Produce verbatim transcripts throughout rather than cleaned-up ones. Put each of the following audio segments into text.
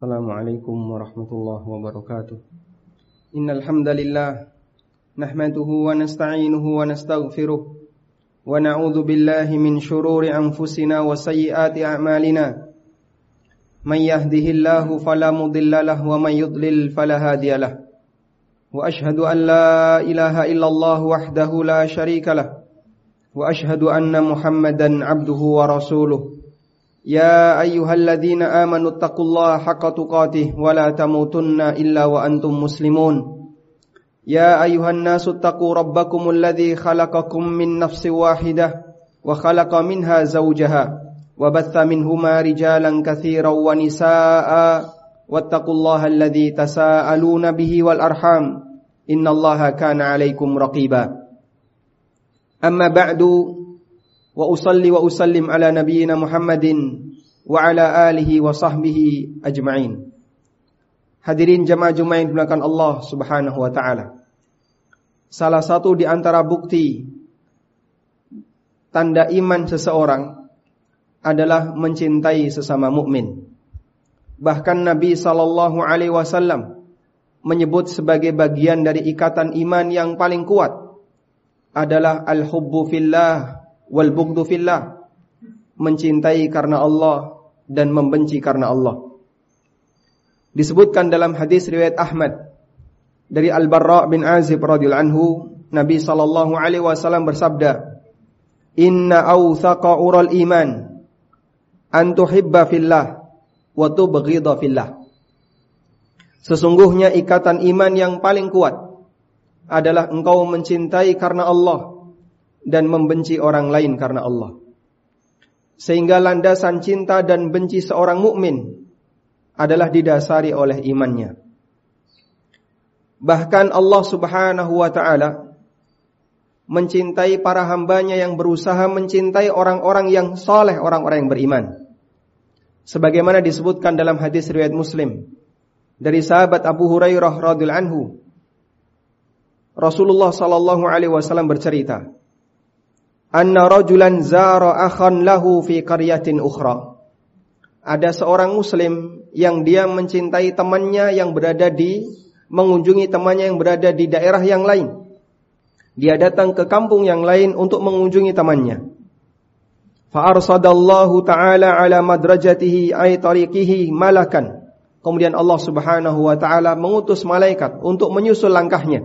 Assalamualaikum warahmatullahi wabarakatuh. Innal hamdalillah nahmaduhu wa nasta'inuhu wa nastaghfiruh wa na'udzu billahi min shururi anfusina wa sayyiati a'malina. Man yahdihillahu fala mudilla lahu wa man yudlil fala hadiya lahu. Wa ashhadu an la ilaha illallah wahdahu la syarika lahu wa ashhadu anna Muhammadan 'abduhu wa rasuluh. Ya ayyuhalladzina amanu taqullaha haqqa tuqatih wa la tamutunna illa wa antum muslimun. Ya ayyuhan nasu taqu rabbakumul ladzi khalaqakum min nafsin wahidah wa khalaqa minha zawjaha wa batha minhuma rijalan katsiran wa nisaa'a wattaqullaha alladzi tasaaluna bihi wal arham innallaha kana 'alaikum raqiba. Amma ba'du. Wa usalli wa usallim ala nabiyyina Muhammadin wa ala alihi wa sahbihi ajma'in. Hadirin jamaah Jumat yang dimuliakan Allah Subhanahu wa taala. Salah satu di antara bukti tanda iman seseorang adalah mencintai sesama mukmin. Bahkan Nabi sallallahu alaihi wasallam menyebut sebagai bagian dari ikatan iman yang paling kuat adalah al-hubbu fillah wal bughdu fillah, mencintai karena Allah dan membenci karena Allah. Disebutkan dalam hadis riwayat Ahmad dari Al-Barra bin Azib radhiyallahu anhu, Nabi sallallahu alaihi wasallam bersabda, "Inna awthaqa ural iman an tuhibba fillah wa tubghidha fillah." Sesungguhnya ikatan iman yang paling kuat adalah engkau mencintai karena Allah dan membenci orang lain karena Allah. Sehingga landasan cinta dan benci seorang mukmin adalah didasari oleh imannya. Bahkan Allah Subhanahu wa taala mencintai para hambanya yang berusaha mencintai orang-orang yang saleh, orang-orang yang beriman. Sebagaimana disebutkan dalam hadis riwayat Muslim dari sahabat Abu Hurairah radhiyallahu anhu, Rasulullah sallallahu alaihi wasallam bercerita, anna rajulan zara akhan lahu fi qaryatin ukhra. Ada seorang muslim yang dia mencintai temannya yang berada di mengunjungi temannya yang berada di daerah yang lain. Dia datang ke kampung yang lain untuk mengunjungi temannya. Fa arsadallahu ta'ala ala madrajatihi ay tariqihi malakan. Kemudian Allah Subhanahu wa taala mengutus malaikat untuk menyusul langkahnya.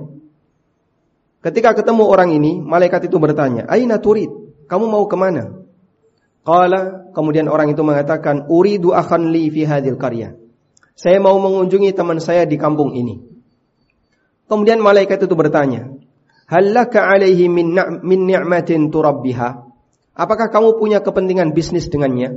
Ketika ketemu orang ini, malaikat itu bertanya, "Aina turid? Kamu mau kemana?" Qala, kemudian orang itu mengatakan, "Uridu akhan li fi hadhil qaryah." Saya mau mengunjungi teman saya di kampung ini. Kemudian malaikat itu bertanya, "Hal laka alaihi min min ni'matin turabbiha?" Apakah kamu punya kepentingan bisnis dengannya?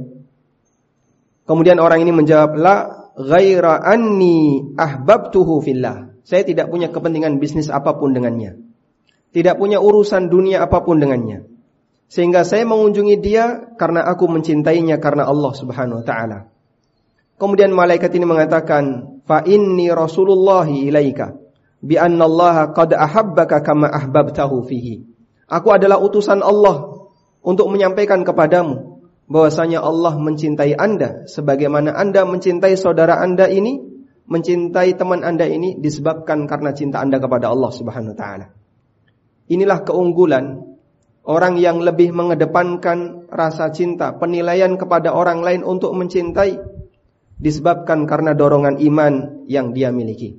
Kemudian orang ini menjawab, "La ghaira anni ahbabtuhu fillah." Saya tidak punya kepentingan bisnis apapun dengannya. Tidak punya urusan dunia apapun dengannya. Sehingga saya mengunjungi dia karena aku mencintainya karena Allah Subhanahu wa taala. Kemudian malaikat ini mengatakan, "Fa inni rasulullahi ilaika bi anna Allah qad ahabbaka kama ahbabtahu fihi." Aku adalah utusan Allah untuk menyampaikan kepadamu bahwasanya Allah mencintai Anda sebagaimana Anda mencintai saudara Anda ini, mencintai teman Anda ini disebabkan karena cinta Anda kepada Allah Subhanahu wa taala. Inilah keunggulan orang yang lebih mengedepankan rasa cinta, penilaian kepada orang lain untuk mencintai, disebabkan karena dorongan iman yang dia miliki.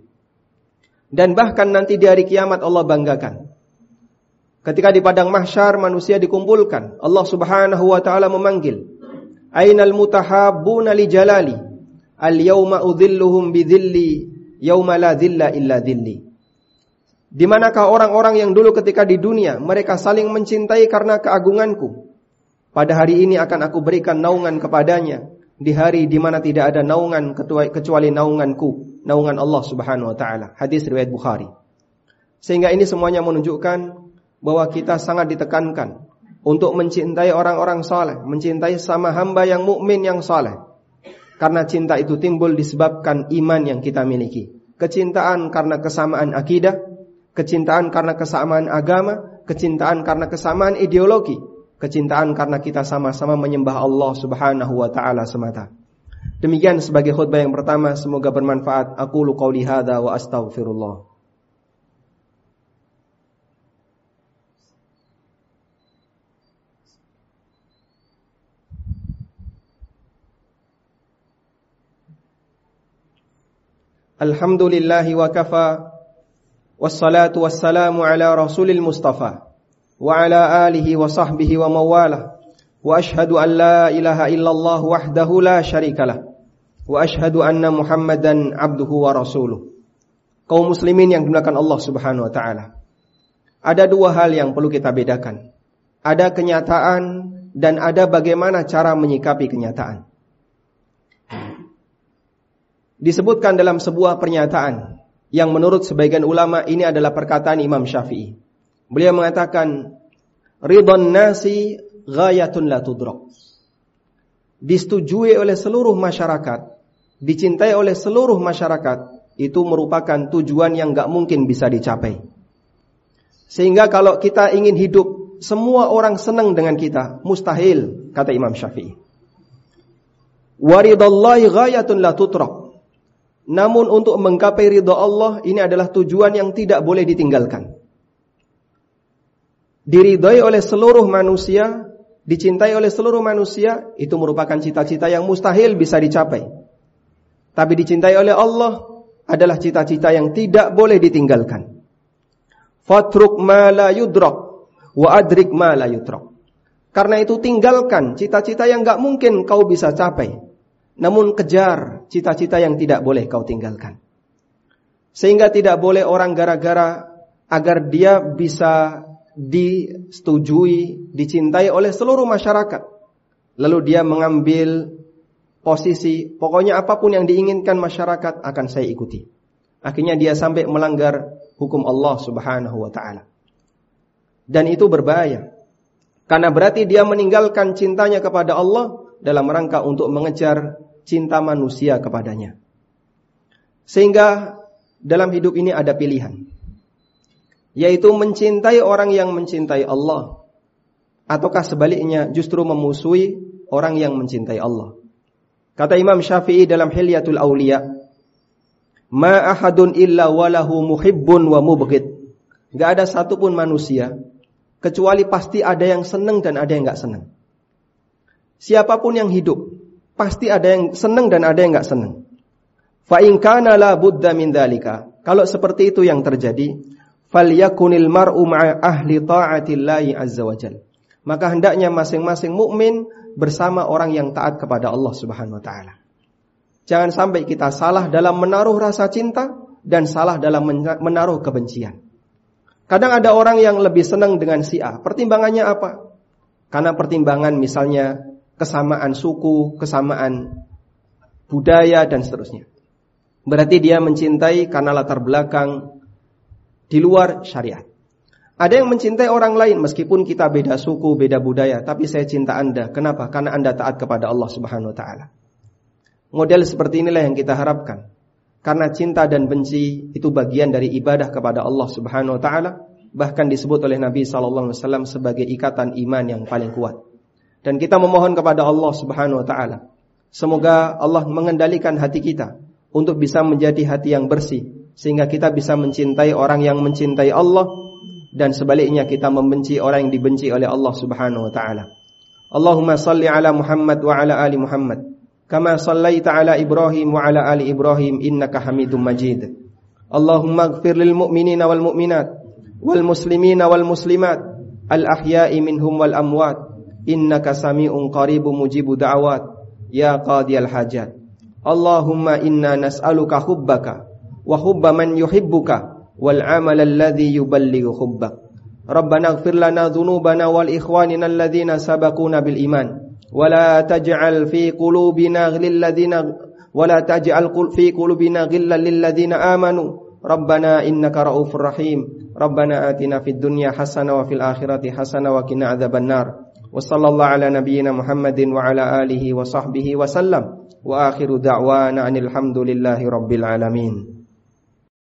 Dan bahkan nanti di hari kiamat Allah banggakan. Ketika di padang mahsyar manusia dikumpulkan, Allah Subhanahu wa taala memanggil, "Ainal mutahabbuna li jalali? Al-yawma udhilluhum bidhilli yawma la dhilla illa dhilli." Di manakah orang-orang yang dulu ketika di dunia mereka saling mencintai karena keagunganku? Pada hari ini akan aku berikan naungan kepadanya di hari di mana tidak ada naungan kecuali naunganku, naungan Allah Subhanahu wa taala. Hadis riwayat Bukhari. Sehingga ini semuanya menunjukkan bahwa kita sangat ditekankan untuk mencintai orang-orang saleh, mencintai sama hamba yang mukmin yang saleh. Karena cinta itu timbul disebabkan iman yang kita miliki. Kecintaan karena kesamaan akidah, kecintaan karena kesamaan agama, kecintaan karena kesamaan ideologi, kecintaan karena kita sama-sama menyembah Allah Subhanahu wa taala semata. Demikian sebagai khutbah yang pertama, semoga bermanfaat. Aqulu qauli hadza wa astaghfirullah. Alhamdulillahi wa kafa, wassalatu wassalamu ala rasulil mustafa, wa ala alihi wa sahbihi wa mawalah, wa ashhadu an la ilaha illallah wahdahu la syarikalah, wa ashhadu anna muhammadan abduhu wa rasuluh. Kaum muslimin yang dimuliakan Allah subhanahu wa ta'ala, ada dua hal yang perlu kita bedakan. Ada kenyataan dan ada bagaimana cara menyikapi kenyataan. Disebutkan dalam sebuah pernyataan yang menurut sebagian ulama ini adalah perkataan Imam Syafi'i. Beliau mengatakan, ridhon nasi ghayatun la tudrak. Disetujui oleh seluruh masyarakat, dicintai oleh seluruh masyarakat, itu merupakan tujuan yang gak mungkin bisa dicapai. Sehingga kalau kita ingin hidup semua orang senang dengan kita, mustahil, kata Imam Syafi'i. Waridallahi ghayatun la tudrak. Namun untuk menggapai ridha Allah, ini adalah tujuan yang tidak boleh ditinggalkan. Diridhai oleh seluruh manusia, dicintai oleh seluruh manusia, itu merupakan cita-cita yang mustahil bisa dicapai. Tapi dicintai oleh Allah adalah cita-cita yang tidak boleh ditinggalkan. Fatruk ma la yudrak wa adrik ma la yutrak. Karena itu tinggalkan cita-cita yang gak mungkin kau bisa capai, namun kejar cita-cita yang tidak boleh kau tinggalkan. Sehingga tidak boleh orang gara-gara agar dia bisa disetujui, dicintai oleh seluruh masyarakat, lalu dia mengambil posisi, pokoknya apapun yang diinginkan masyarakat akan saya ikuti. Akhirnya dia sampai melanggar hukum Allah subhanahu wa ta'ala. Dan itu berbahaya, karena berarti dia meninggalkan cintanya kepada Allah dalam rangka untuk mengejar cinta manusia kepadanya. Sehingga dalam hidup ini ada pilihan, yaitu mencintai orang yang mencintai Allah, ataukah sebaliknya justru memusuhi orang yang mencintai Allah. Kata Imam Syafi'i dalam Hilyatul Auliya, ma ahadun illa walahu muhibbun wa mubghid. Gak ada satupun manusia kecuali pasti ada yang senang dan ada yang gak senang. Siapapun yang hidup pasti ada yang senang dan ada yang gak senang. Fa in kana la budda min dzalika. Kalau seperti itu yang terjadi, falyakunil mar'u ma'a ahli ta'atillahi azza wajalla. Maka hendaknya masing-masing mukmin bersama orang yang taat kepada Allah Subhanahu wa taala. Jangan sampai kita salah dalam menaruh rasa cinta dan salah dalam menaruh kebencian. Kadang ada orang yang lebih senang dengan si A. Pertimbangannya apa? Karena pertimbangan misalnya kesamaan suku, kesamaan budaya, dan seterusnya. Berarti dia mencintai karena latar belakang di luar syariat. Ada yang mencintai orang lain meskipun kita beda suku, beda budaya, tapi saya cinta Anda. Kenapa? Karena Anda taat kepada Allah Subhanahu wa taala. Model seperti inilah yang kita harapkan. Karena cinta dan benci itu bagian dari ibadah kepada Allah Subhanahu wa taala, bahkan disebut oleh Nabi sallallahu alaihi wasallam sebagai ikatan iman yang paling kuat. Dan kita memohon kepada Allah Subhanahu wa taala, semoga Allah mengendalikan hati kita untuk bisa menjadi hati yang bersih, sehingga kita bisa mencintai orang yang mencintai Allah, dan sebaliknya kita membenci orang yang dibenci oleh Allah Subhanahu wa taala. Allahumma salli ala Muhammad wa ala ali Muhammad, kama sallaita ala Ibrahim wa ala ali Ibrahim innaka Hamidum Majid. Allahumma ighfir lil mu'minina wal mu'minat wal muslimina wal muslimat al ahya'i minhum wal amwat innaka sami'un qaribun mujibud da'awat ya qadiyal hajat. Allahumma inna nas'aluka hubbaka wa hubba man yuhibbuka wal amal alladhi yuballighu hubbak. Rabbana ighfir lana dhunubana wal ikhwanina alladhina sabaquna bil iman wa la taj'al fi qulubina ghillal ladzina wa la taj'al fi qulubina ghillal lil ladzina amanu Rabbana innaka raufur rahim. Rabbana atina fid dunya hasanah wa fil akhirati hasanah wa qina adzabannar. Wa sallallahu ala nabiyyina Muhammadin wa ala alihi wa sahbihi wa sallam. Wa akhiru da'wana anil hamdulillahi rabbil alamin.